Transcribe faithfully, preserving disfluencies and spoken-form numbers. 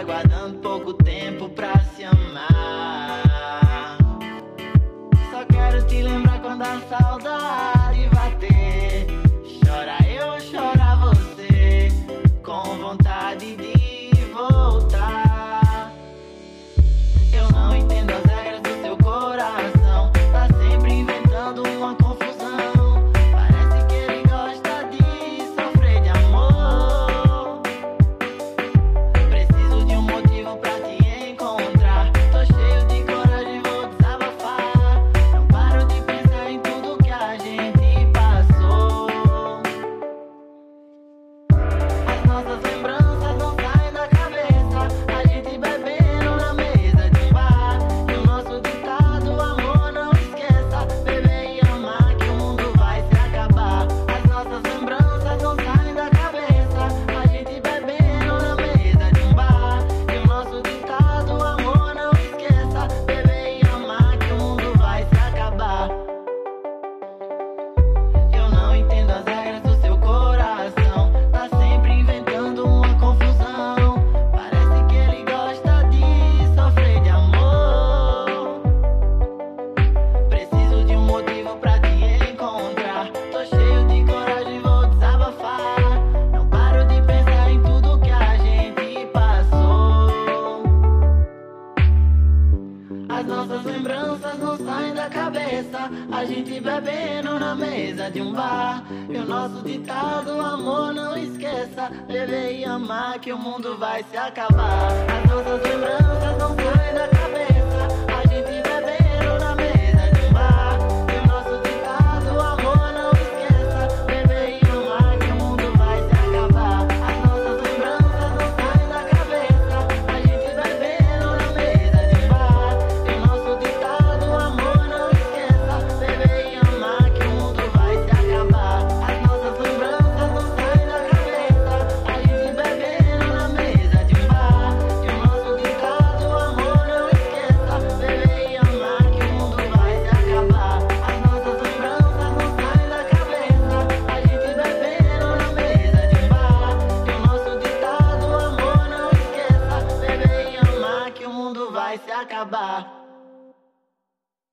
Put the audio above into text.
aguardando pouco tempo pra se amar. Só quero te lembrar quando a saudade bater. Chora eu, chora você, com vontade de voltar. Eu não entendo as regras do seu coração, tá sempre inventando uma confusão. Parece que ele gosta de sofrer de amor. Preciso de um motivo pra te encontrar. Tô cheio de coragem, vou desabafar. Não paro de pensar em tudo que a gente passou. As nossas lembranças não saem da cabeça. A gente bebendo na mesa de um bar. E o nosso ditado, amor, não esqueça. Beber e amar que o mundo vai se acabar. As nossas lembranças não saem da cabeça. A gente bebendo na mesa de um bar. E o nosso ditado, amor, não esqueça. Beber e amar que o mundo vai se acabar. Eu não entendo as regras do seu coração, tá sempre inventando uma confusão. Parece que ele gosta de sofrer de amor. Preciso de um motivo pra te encontrar. Tô cheio de coragem, vou desabafar. Não paro de pensar em tudo que a gente passou. As nossas lembranças não saem da cabeça. A gente bebendo na mesa de um bar. E o nosso ditado, amor, não esqueça. Beber e amar que o mundo vai se acabar. As nossas lembranças não saem da cabeça. A gente bebendo na mesa de um bar. E o nosso ditado, amor, não esqueça. Beber e amar que o mundo vai se acabar. As nossas lembranças não saem da cabeça. A gente bebendo na mesa de um bar. E o nosso ditado, amor, não esqueça. Beber e amar que o mundo vai se acabar. As nossas lembranças não saem da cabeça. A gente bebendo na mesa de um bar. E o nosso ditado, amor, não esqueça. Beber e amar que o mundo vai se acabar. As nossas lembranças não saem da cabeça. A gente bebendo na mesa de um bar. E o nosso ditado, amor, não esqueça. Beber e amar que o mundo vai se acabar.